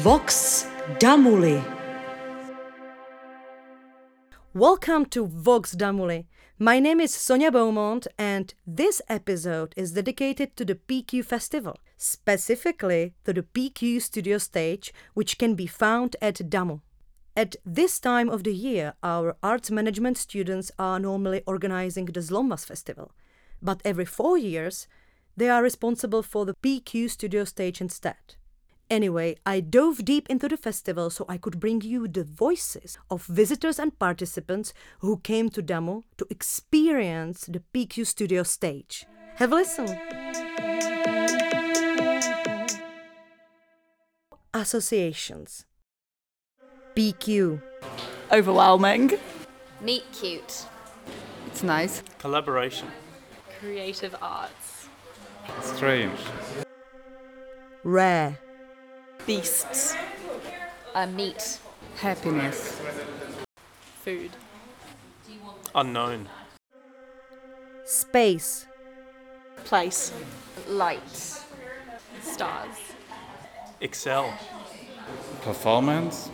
Vox Damuli. Welcome to Vox Damuli. My name is Sonia Beaumont and this episode is dedicated to the PQ Festival, specifically to the PQ Studio Stage, which can be found at DAMU. At this time of the year, our arts management students are normally organizing the Zlommas Festival, but every 4 years, they are responsible for the PQ Studio Stage instead. Anyway, I dove deep into the festival so I could bring you the voices of visitors and participants who came to DAMU to experience the PQ Studio Stage. Have a listen! Associations. PQ. Overwhelming. Meet cute. It's nice. Collaboration. Creative arts. Strange. Rare. Beasts. Meat. Happiness. Food. Unknown. Space. Place. Light. Stars. Excel. Performance.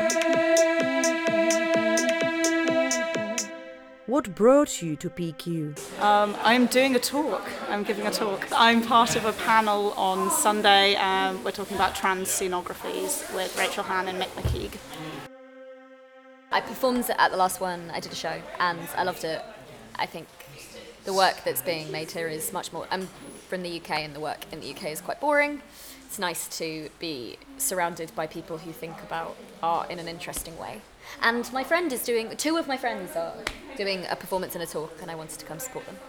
What brought you to PQ? I'm doing a talk. I'm giving a talk. I'm part of a panel on Sunday. We're talking about trans scenographies with Rachel Han and Mick McKeague. I performed at the last one. I did a show and I loved it. I think the work that's being made here is much more... I'm from the UK and the work in the UK is quite boring. It's nice to be surrounded by people who think about art in an interesting way. And my friend is doing... Two of my friends are doing a performance and a talk and I wanted to come support them.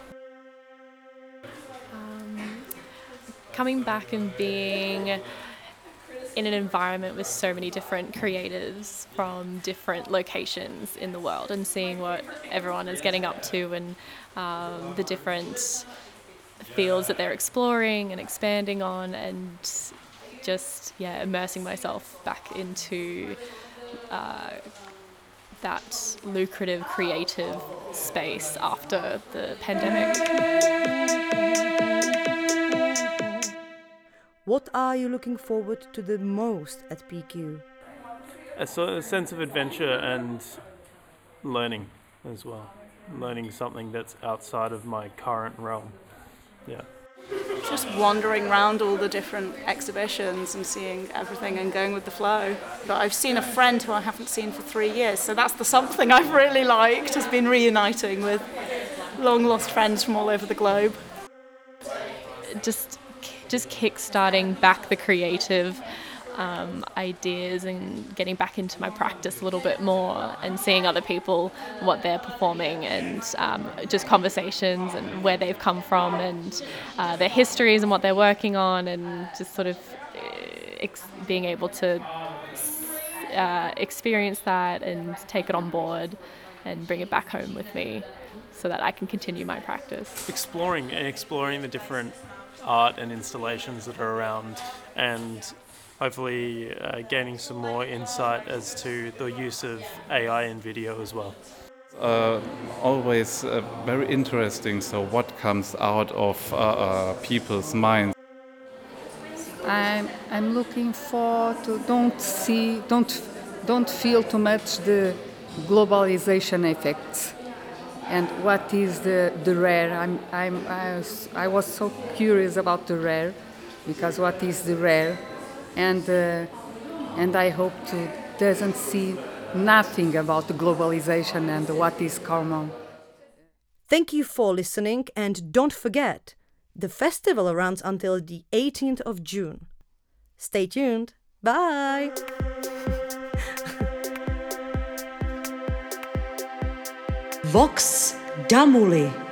Coming back and being in an environment with so many different creatives from different locations in the world and seeing what everyone is getting up to and the different fields that they're exploring and expanding on, and just immersing myself back into that lucrative creative space after the pandemic. What are you looking forward to the most at PQ? A sort of sense of adventure and learning as well. Learning something that's outside of my current realm. Yeah. Just wandering around all the different exhibitions and seeing everything and going with the flow. But I've seen a friend who I haven't seen for 3 years, so that's the something I've really liked, has been reuniting with long-lost friends from all over the globe. Just kick-starting back the creative ideas and getting back into my practice a little bit more and seeing other people, what they're performing, and just conversations and where they've come from and their histories and what they're working on, and just sort of being able to experience that and take it on board and bring it back home with me so that I can continue my practice. Exploring the different art and installations that are around, and hopefully gaining some more insight as to the use of AI in video as well. Always very interesting. So what comes out of people's minds? I'm looking for to don't feel too much the globalization effects. And what is the rare? I was so curious about the rare, because what is the rare? And I hope to doesn't see nothing about the globalization and what is common. Thank you for listening, and don't forget, the festival runs until the 18th of June. Stay tuned. Bye! Vox Damuli.